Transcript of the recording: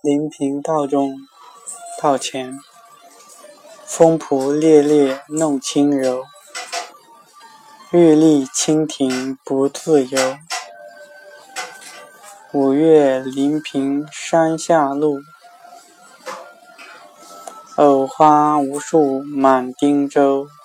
临平道中道前，风蒲猎猎弄轻柔，玉立蜻蜓不自由。五月临平山下路，藕花无数满汀洲。